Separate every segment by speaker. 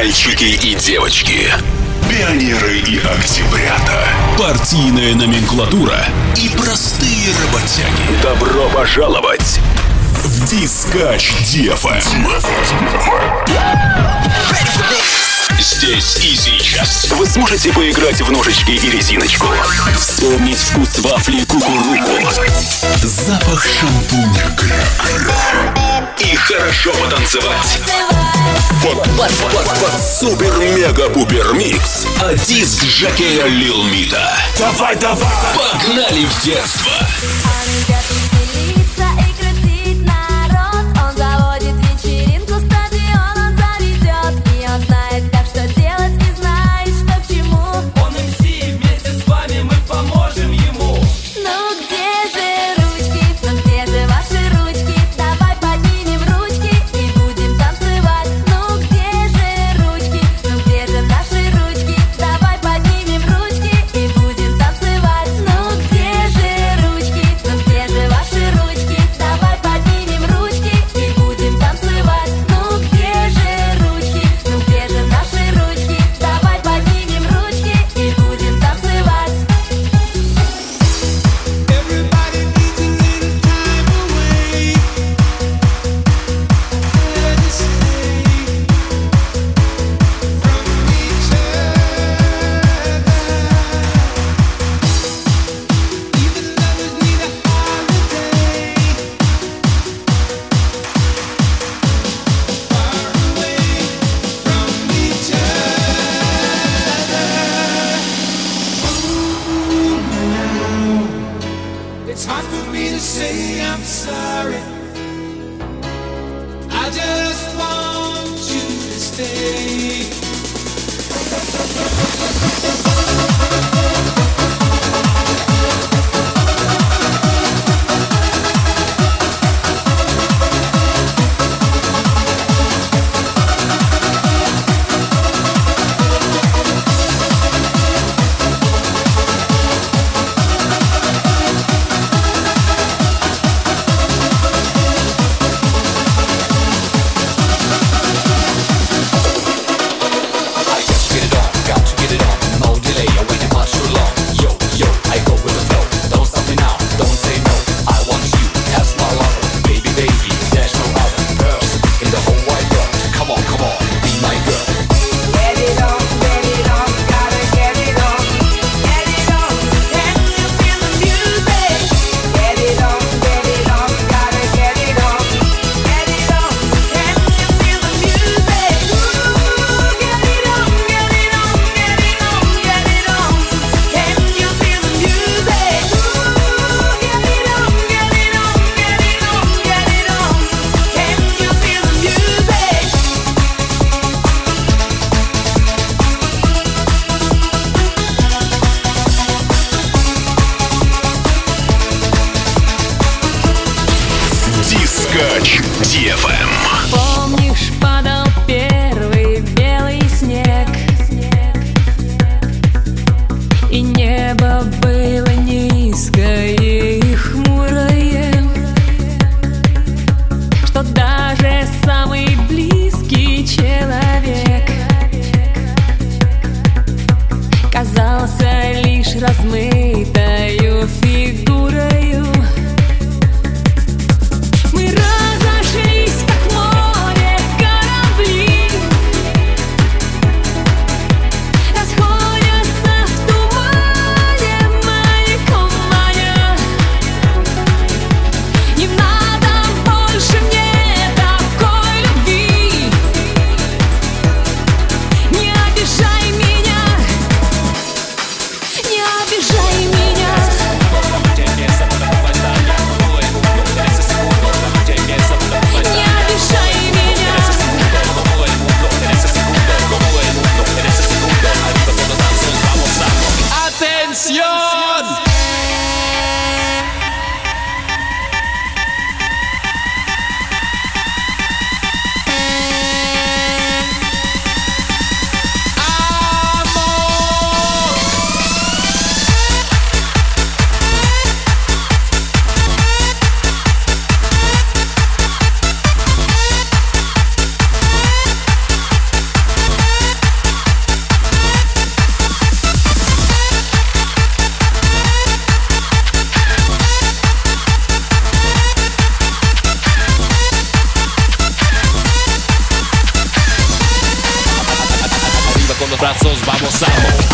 Speaker 1: Мальчики и девочки, пионеры и октябрята, партийная номенклатура и простые работяги. Добро пожаловать в Дискач DFM. Здесь и сейчас вы сможете поиграть в ножички и резиночку, вспомнить вкус вафли кукуруку, запах шампуня кракера и хорошо потанцевать под супер-мега-пупер-микс от диск жокея Лил Мита. Давай, давай! Погнали в детство!
Speaker 2: Где же con los brazos vamos, vamos.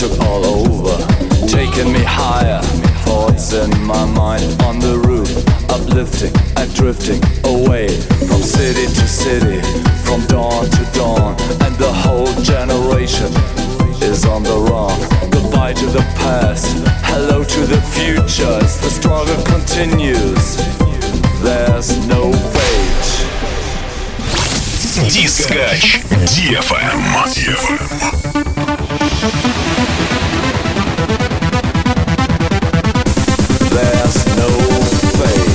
Speaker 3: took all over, taking me higher. Thoughts in my mind on the roof, uplifting and drifting away from city to city, from dawn to dawn, and the whole generation is on the run. Goodbye to the past, hello to the future. As the struggle continues, there's no fate.
Speaker 1: Дискач DFM.
Speaker 3: There's no fate.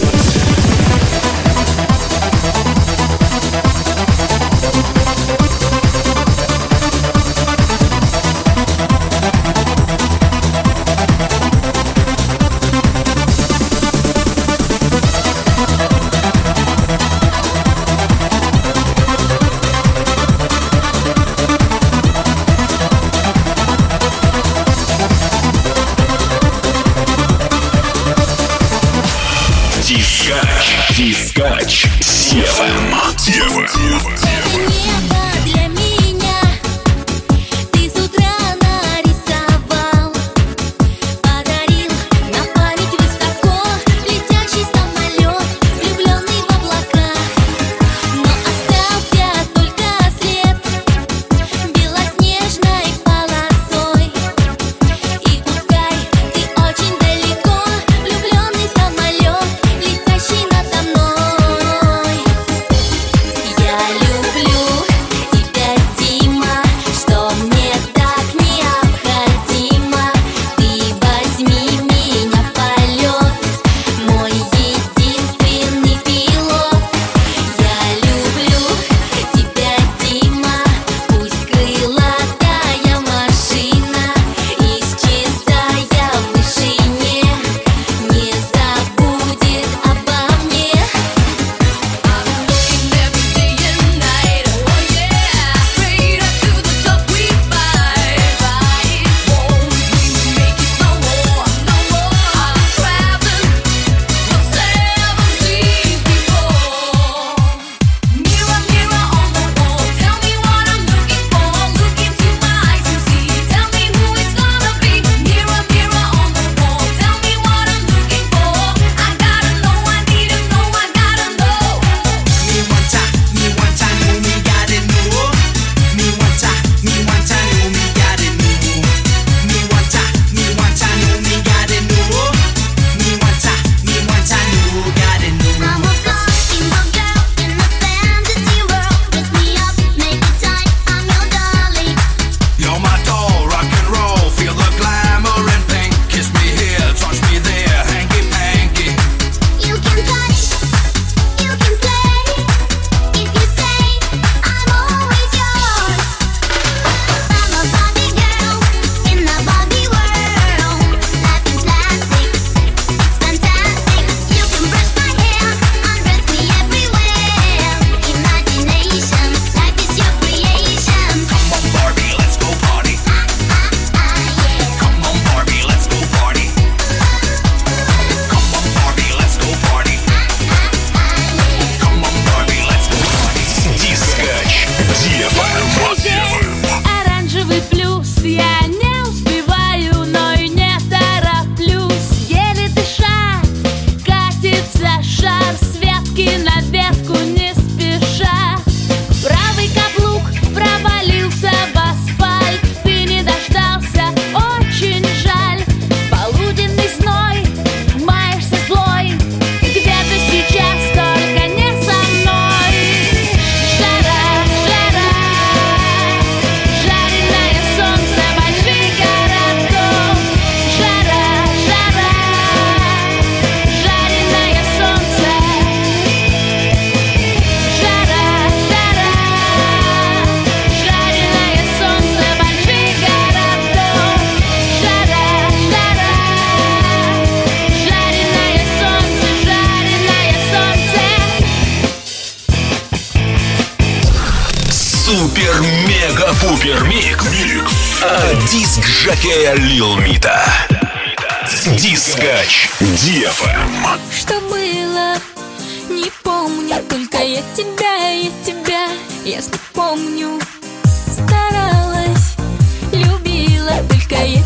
Speaker 1: Дискач DFM. Супер-мега-пупер микс от диск-жокея Lil Mita. Дискач DFM.
Speaker 4: Что было, не помню, только я тебя, ясно помню. Старалась, любила, только я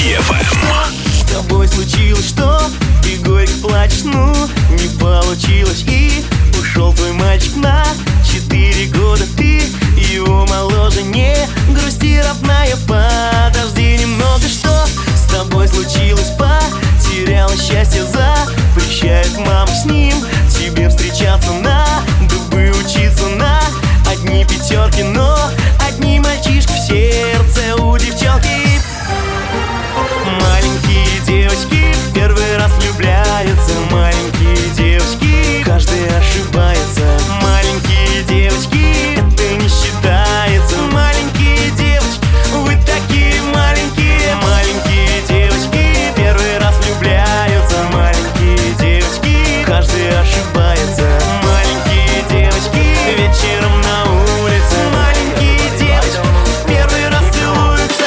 Speaker 1: DFM.
Speaker 5: С тобой случилось что? И горько плачешь, ну, не получилось. И ушел твой мальчик на 4 года. Ты его моложе, не грусти, родная, подожди немного. Что с тобой случилось? Потеряла счастье, запрещает мама с ним тебе встречаться, надо бы учиться на одни пятерки, но одни мальчишки в сердце у девчонки. Маленькие девочки первый раз влюбляются. Маленькие девочки, каждый ошибается. Маленькие девочки, это не считается. Маленькие девочки, вы такие маленькие. Маленькие девочки первый раз влюбляются. Маленькие девочки, каждый ошибается. Маленькие девочки вечером на улице. Маленькие девочки первый раз целуются.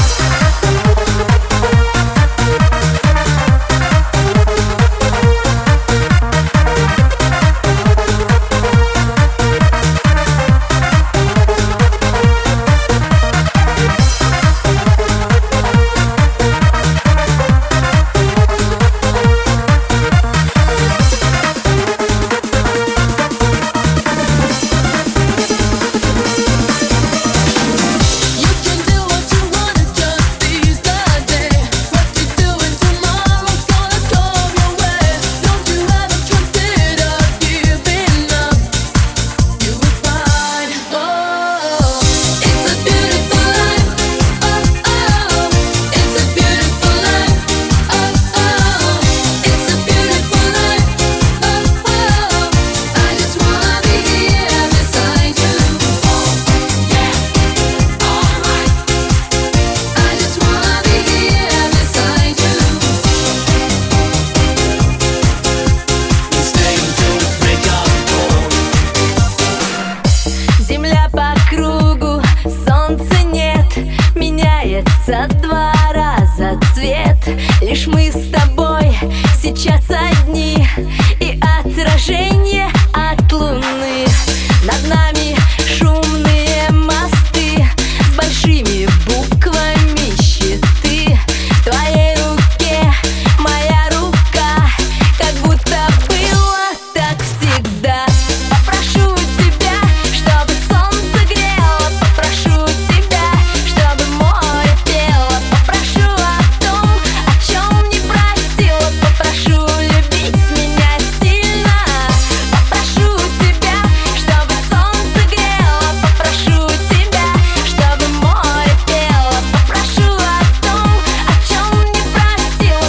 Speaker 4: Два раза цвет. Лишь мы с тобой сейчас одни, и отражение от луны. Над нами шумные мосты с большими буквами щиты. В твоей руке моя рука, как будто было так всегда. Попрошу тебя, чтобы солнце грело. Попрошу тебя, чтобы море пело. Попрошу о том, о чем не просила. Попрошу любить меня сильно. Попрошу тебя, чтобы солнце грело. Попрошу тебя, чтобы море пело. Попрошу о том, о чем не просила.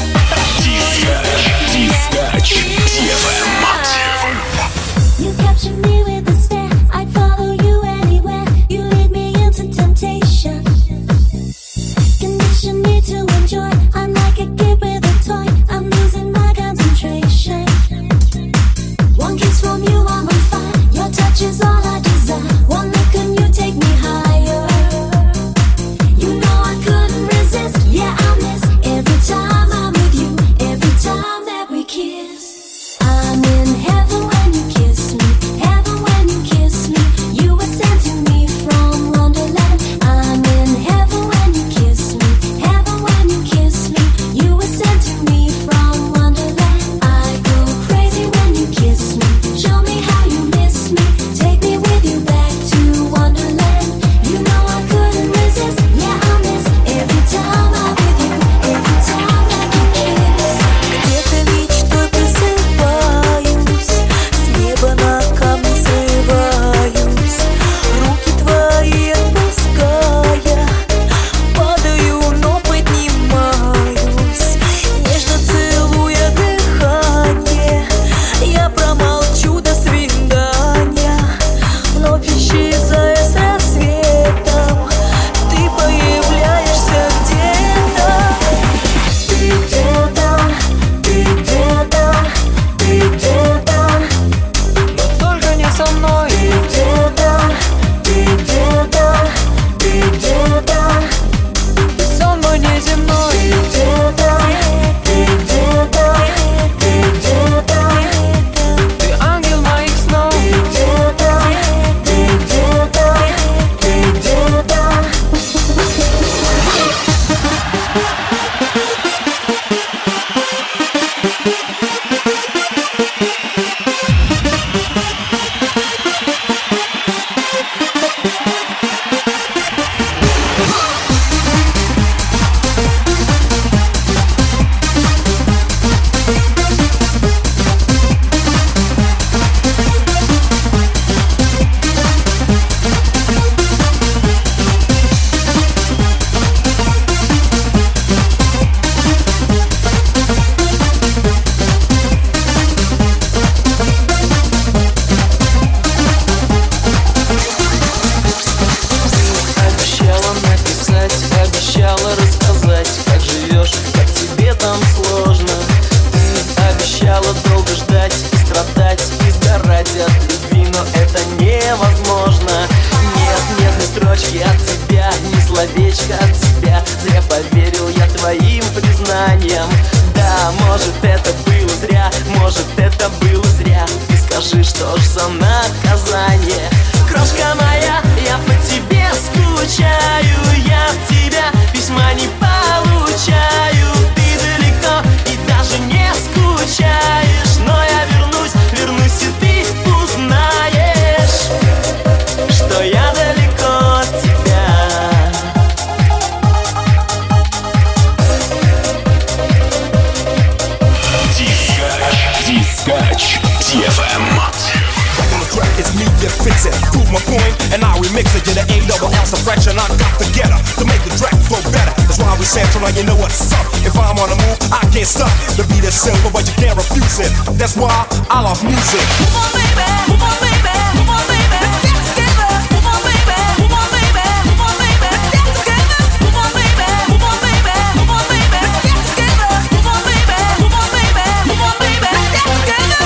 Speaker 1: Дискач DFM.
Speaker 6: You capture me with a stare. I'd follow you anywhere. You lead me into temptation. Condition me to enjoy. I'm like a kid with a toy. I'm losing my concentration. One kiss from you, I'm on fire. Your touch is all I desire. One look and you take me higher. You know I couldn't resist. Yeah, I miss every time I'm with you. Every time that we kiss. I'm in heaven when you kiss me. Heaven when you kiss me. You were sent to me from Wonderland. I'm in heaven when you kiss me. Heaven when you kiss me. You were sent to me from Wonderland. I go crazy when you kiss me. Show me how you miss me. Take me with you back to Wonderland. You know I couldn't resist. Yeah, I miss every time I'm with you. Every time that we kiss.
Speaker 7: Где-то мечтой просыпаюсь, с неба на камни срываюсь, руки твои отпуская, падаю, но поднимаюсь, нежно целуя дыхание. Я промолчу до свидания, вновь исчезая с рассветом, ты появляешься где-то. Ты где-то, ты где-то, ты где-то,
Speaker 3: Но только не со мной.
Speaker 7: ты где-то, ты где-то, ты где-то,
Speaker 3: Сон мой неземной.
Speaker 7: ты где-то, ты где-то, ты где-то,
Speaker 3: Ты ангел моих снов.
Speaker 7: ты где-то, ты где-то, ты где-то.
Speaker 5: поверил я твоим признаниям. Да, может это было зря, может это было зря. Ты скажи, что ж за наказание? Крошка моя, я по тебе скучаю, я от тебя письма не получаю. Ты далеко и даже не скучаешь, но я вернусь и ты узнаешь, что я далеко от тебя.
Speaker 1: Дискач DFM.
Speaker 8: It's me that fix it, prove my point, and I remix it. Get an A-double-L fraction, I got to get her to make the track flow better. That's why we sample, now you know what's up. If I'm on the move, I can't stop. The beat is simple, but you can't refuse it. That's why I love music.
Speaker 6: Move on, baby, move on, baby, move on, baby. Let's get together. Move on, baby, move on, baby, move on, baby. Let's get together. Move on, baby, move on, baby, move on, baby. Let's get together. Move on, baby, move on, baby, move on, baby. Let's get together.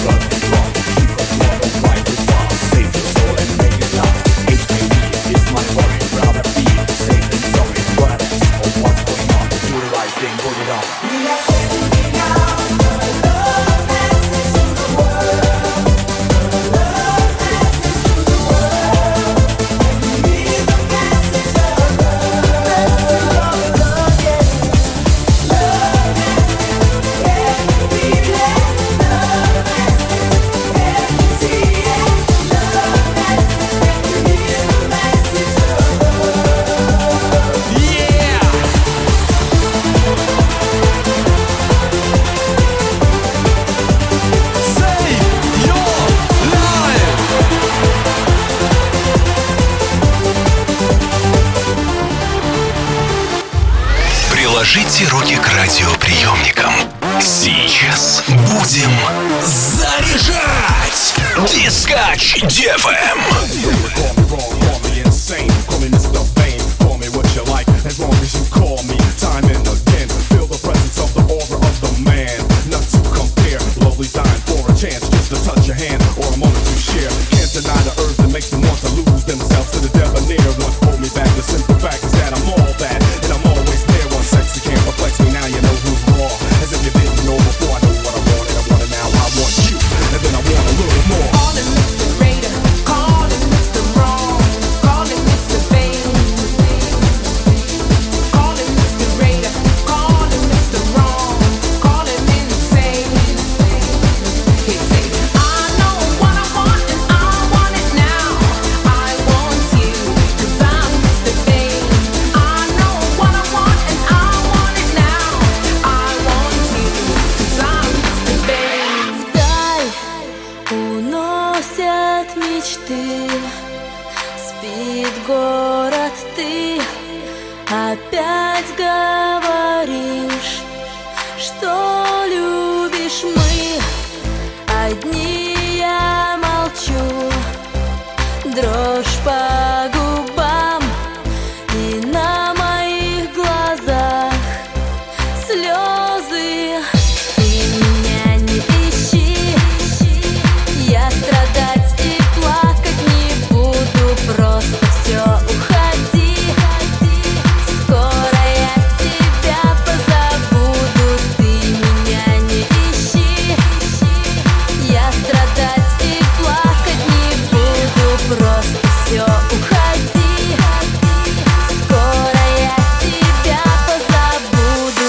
Speaker 9: It's my
Speaker 1: Приложите руки к радиоприемникам. Сейчас будем заряжать Дискач DFM.
Speaker 8: As long as you call me time and again, feel the presence of the aura of the man. Not to compare, lovely's dying for a chance just to touch your hand or a moment to share. Can't deny the urge that makes them want to lose themselves to the debonair. What hold me back, the simple fact is that I'm all that, and I'm always there. One sex you can't perplex me, now you know who's raw. As if you didn't know before, I know what I want, and I want it now, I want you, and then I want a little more.
Speaker 9: Call it Mr. Raider, call it Mr. Wrong, call it Mr. Vain. Call it Mr. Raider, call it Mr. Wrong, call it insane. He say, I know what I want and I want it now. I want you, 'cause I'm Mr. Vain. I know what I want and I want it now. I want you, 'cause I'm Mr. Vain.
Speaker 4: Вдаль уносят мечты, спит город, ты опять говоришь, что любишь. Мы одни, я молчу, дрожь по губам и на моих глазах слезы. Ты меня не ищи, я страдать и плакать не буду, просто все уходи. Скоро я тебя позабуду. Ты меня не ищи, я страдать и плакать не буду, просто все уходи. Скоро я тебя позабуду.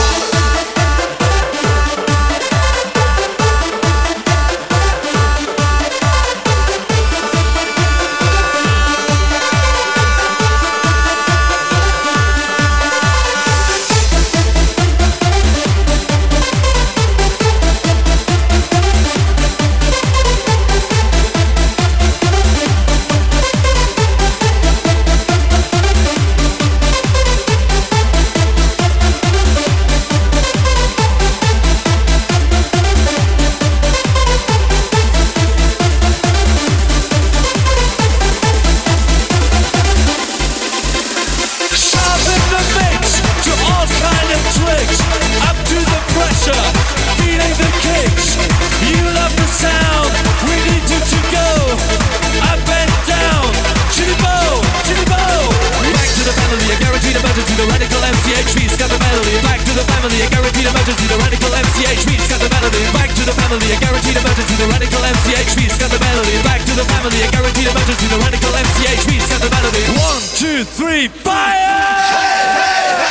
Speaker 3: Sharpen the mix to all kind of tricks. Up to the pressure, feeling the kicks. You love the sound, we need you to go up and down. Chitty bow, chitty bow. Back to the family, a guaranteed emergency. The radical MCHV, got the melody. Back to the family, a guaranteed emergency. The radical MCHV, got the melody. Back to the family, a guaranteed emergency. The radical MCHV, got the melody. Back to the family, a guaranteed emergency. The radical MCHV, got the melody. 1, 2, 3, fire!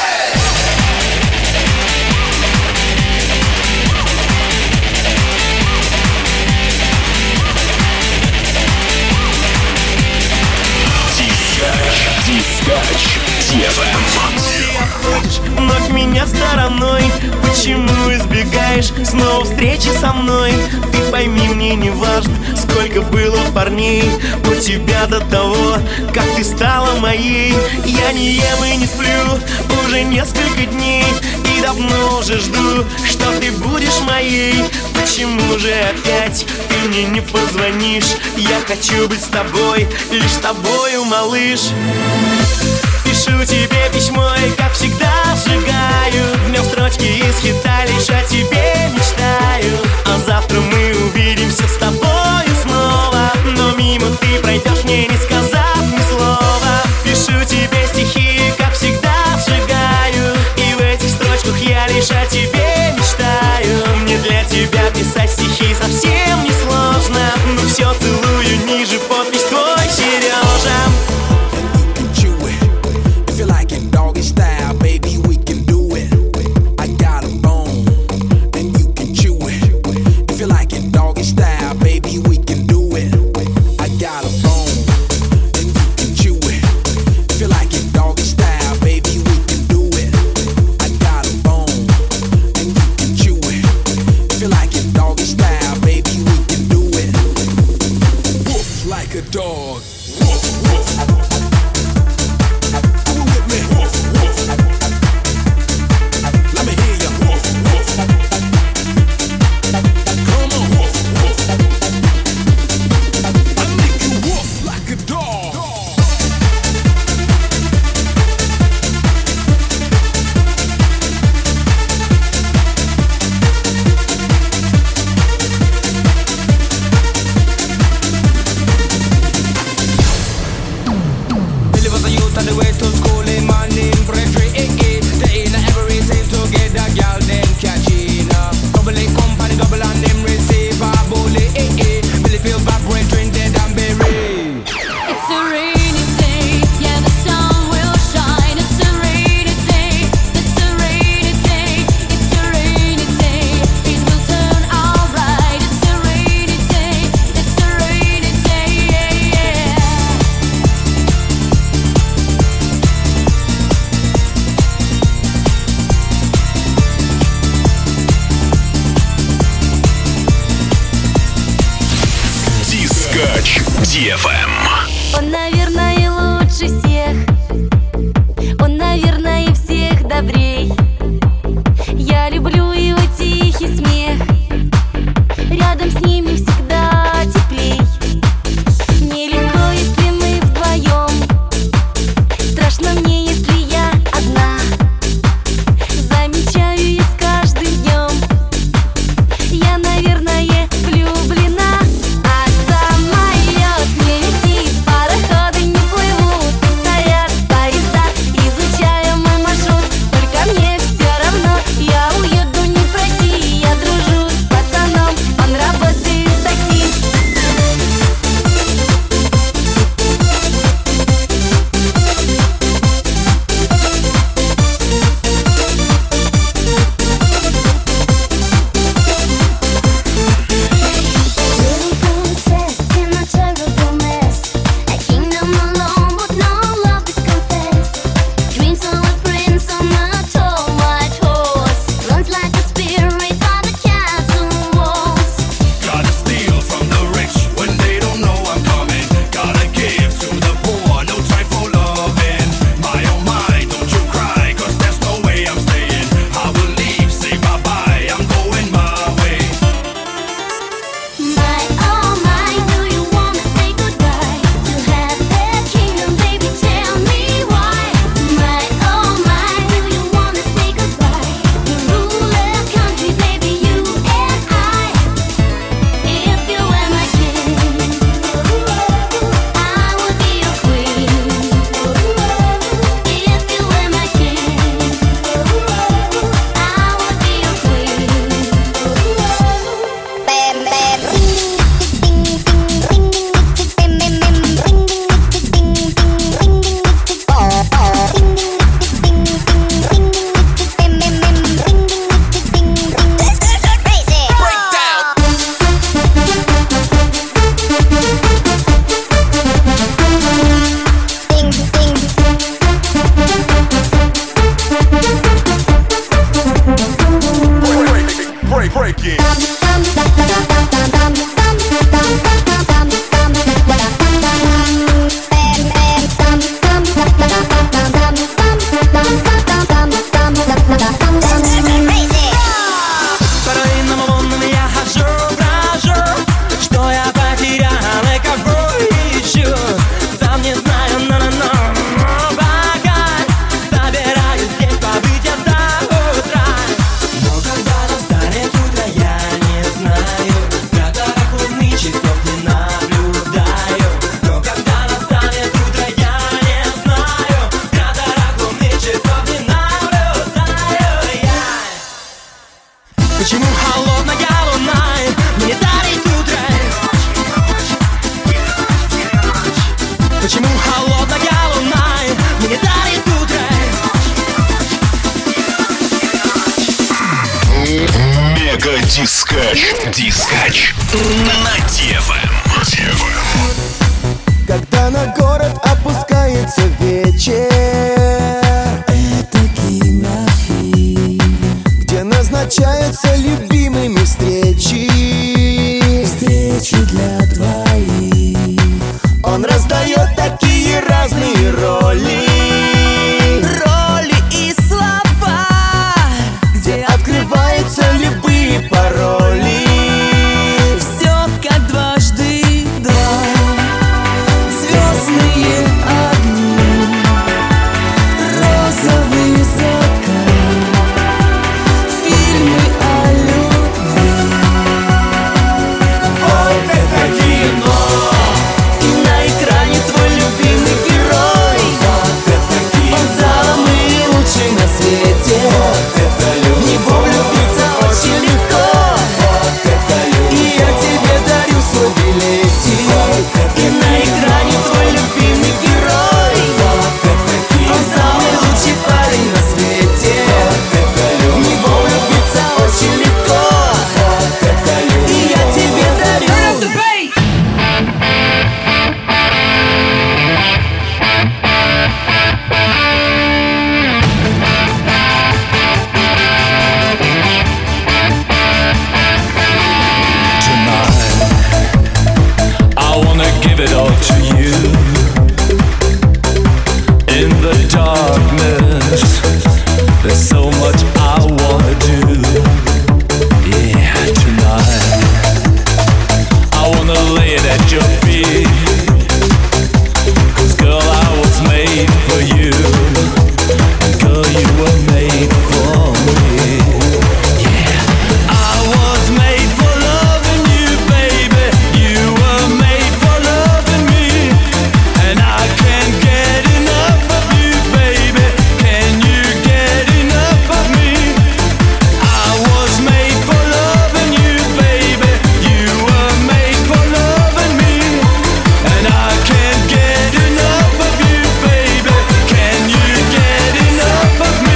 Speaker 1: Дискач DFM.
Speaker 5: Вновь меня стороной. Почему избегаешь снова встречи со мной? Ты пойми, мне не важно, сколько было парней у тебя до того, как ты стала моей. Я не ем и не сплю уже несколько дней, и давно уже жду, что ты будешь моей. Почему же опять ты мне не позвонишь? Я хочу быть с тобой, лишь с тобою, малыш. Пишу тебе письмо и, как всегда, сжигаю в нем строчки из хита, лишь о тебе мечтаю. А завтра мы увидимся с тобою снова, но мимо ты пройдешь, мне не сказав ни слова. Пишу тебе стихи и, как всегда, сжигаю, и в этих строчках я лишь о тебе мечтаю. Мне для тебя писать стихи совсем не сложно, но все целую ниже, подпись твой, Сережа.
Speaker 10: Style, baby, we can do it. I got a bone, and you can chew it. If you like it doggy style, baby, we can do it. I got a bone,
Speaker 11: out of the way to school, him and him Frederick. They in every seem to get a girl them catching. Double A company, double and them receive a bully. Billy feel bad, brethren dead and buried.
Speaker 4: It's a rainy day, yeah, the sun will shine. It's a rainy day, it's a rainy day, it's a rainy day. It will turn alright. It's a rainy day, it's a rainy day, yeah, yeah.
Speaker 1: Дискач DFM.
Speaker 4: Он, наверное, лучше всех. Он, наверное, всех добрей. Я люблю его тихий смех. Рядом с ним мне всегда теплей. Мне легко, если мы вдвоем. Страшно мне, если я одна. Замечаю я с каждым днем. Я, наверное, влюблена. А самолет не летит, пароходы не плывут, стоят поезда, изучаю мой маршрут. Только мне все равно, я уеду, не проси. Я дружу с пацаном, он работает в такси.
Speaker 6: Little princess in a terrible mess. A kingdom alone, but no love is confessed. Dreams of a prince on a tall white horse. Runs like a spirit by the castle walls.
Speaker 8: Gotta steal from the rich when they don't know I'm coming. Gotta give to the poor, no time for loving. My oh my, don't you cry, cause there's no way I'm staying. I will leave, say bye bye, I'm going my way.
Speaker 6: My oh my, do you wanna say goodbye? To have that kingdom, baby, tell me why. My oh my, do you wanna say goodbye? To rule a country, baby, you and I. If you were my king, I would be your queen. If you were my king, I would be your queen. Bam bam.
Speaker 8: Break it.
Speaker 11: По руинам лунным я хожу, брожу. Что я потерял и кого ищу? Сам не знаю, но пока собираюсь здесь побыть я до утра. Но когда настанет утро, я не знаю. Которых лунных часов не наблюдаю. Но когда настанет утро, я не знаю. Которых лунных часов не наблюдаю я. Почему холодная луна мне дарит утро? Почему холодная луна мне дарит утро?
Speaker 1: Мега Дискач. Дискач на DFM.
Speaker 5: Когда на город опускается вечер, это кинофильм, где назначаются любимыми встречи. Встречи для двоих. Он раздает такие разные роли. Роли и слова, где открываются любые пароли. Все как дважды два. Звездные огни
Speaker 3: darkness. There's so much I wanna do. Yeah, tonight I wanna lay it at your feet. 'Cause girl, I was made for you. Girl, you were made for me. Yeah, I was made for loving you, baby. You were made for loving me. And I can't get enough of you, baby. Can you get enough of me? I was made for loving you, baby. You were made for loving me. And I can't get enough of you, baby. Can you get enough of me?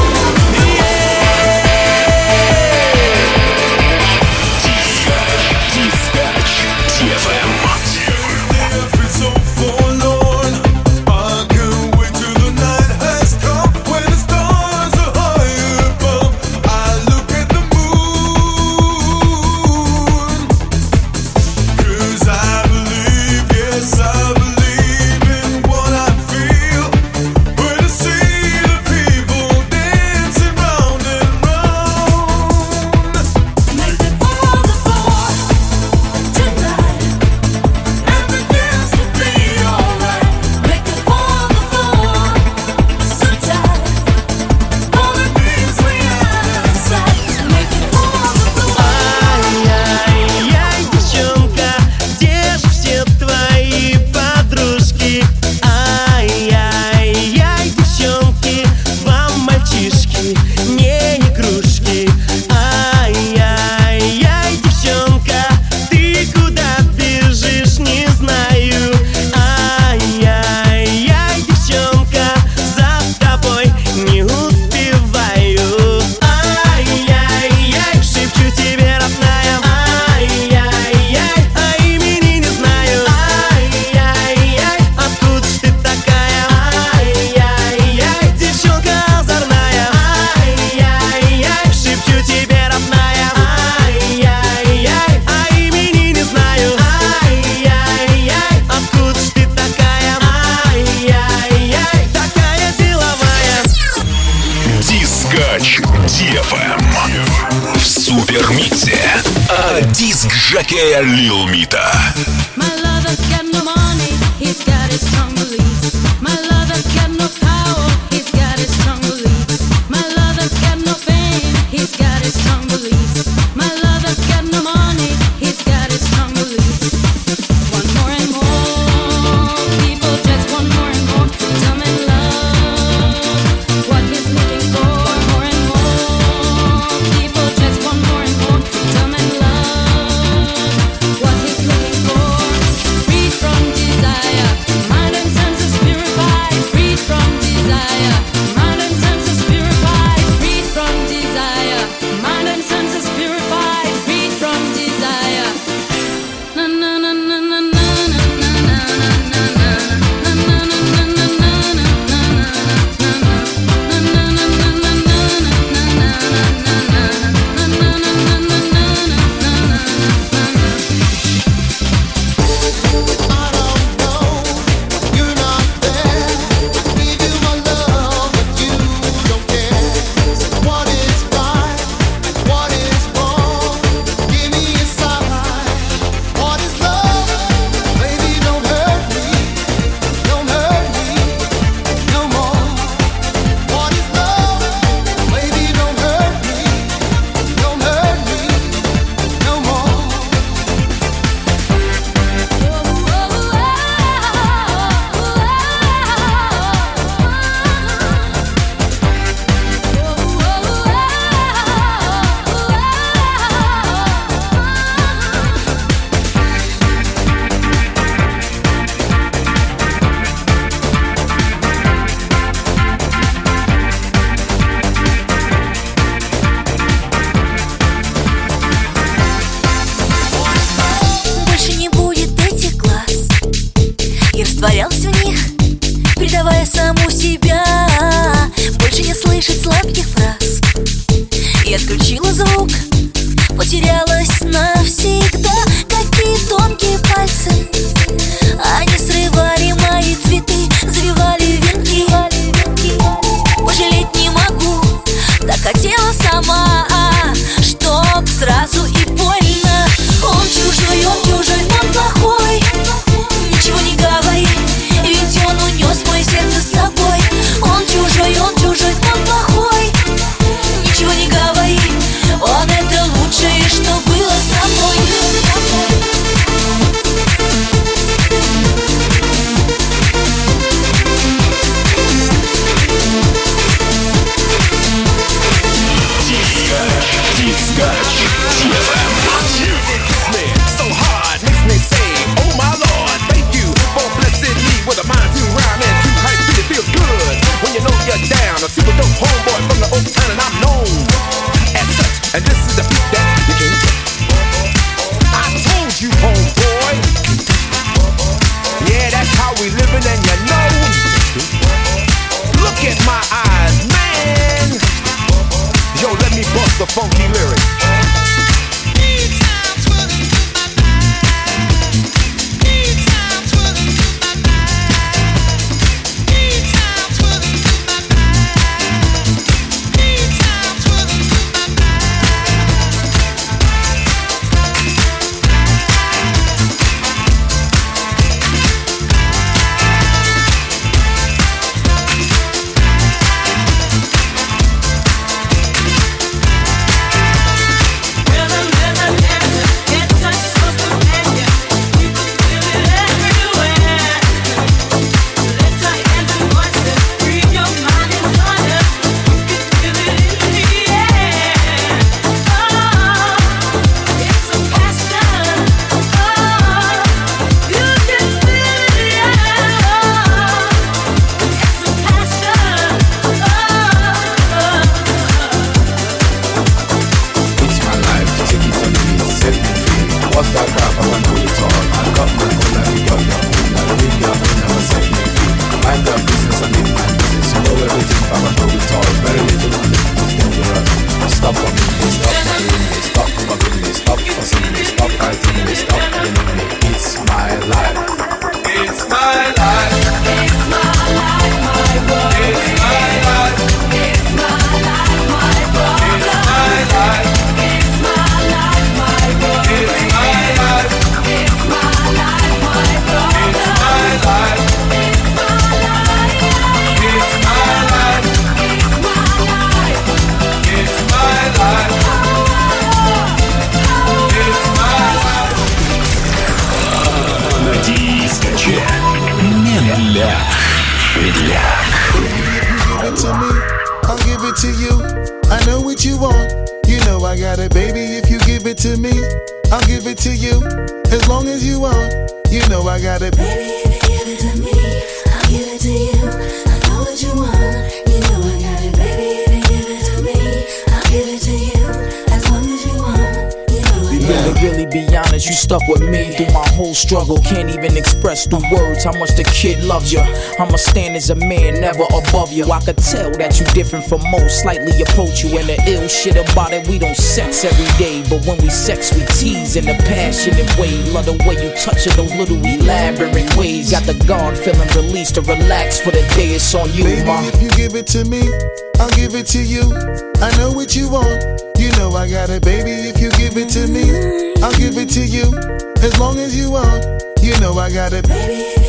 Speaker 1: В супермиксе от диск-жокея Lil Mita.
Speaker 4: My lover's got no money, he's got his strong beliefs. My lover's got no power, he's got his strong beliefs. My lover's got no fame, he's got his strong beliefs. My lover's got no money, he's got his strong beliefs. One more and more people just want more and more freedom and love. What he's looking for, more and more people just want more and more freedom and love. What he's looking for, free from desire, mind and senses purified, free from desire, mind and senses purified, free from desire, mind and senses purified, free from desire. Na na na na na na na na na na na
Speaker 6: Больше не будет этих глаз. Я растворялся в них, предавая саму себя. Больше не слышать сладких фраз. Я отключила звук, потерялась навсегда. Какие тонкие пальцы, они срывали мои цветы, завивали венки.
Speaker 8: look at my eyes, man. Yo, let me bust the funky lyric.
Speaker 12: Struggle, can't even express through words how much the kid loves you. I'ma stand as a man, never above you. I could tell that you different from most, slightly approach you. And the ill shit about it, we don't sex every day, but when we sex, we tease in a passionate way. Love the way you touch it, those little elaborate ways. Got the guard feeling released to relax for the day. It's on you,
Speaker 13: baby,
Speaker 12: ma.
Speaker 13: If you give it to me, I'll give it to you. I know what you want, you know I got it, baby. If you give it to me, I'll give it to you. As long as you want, you know I got it, baby.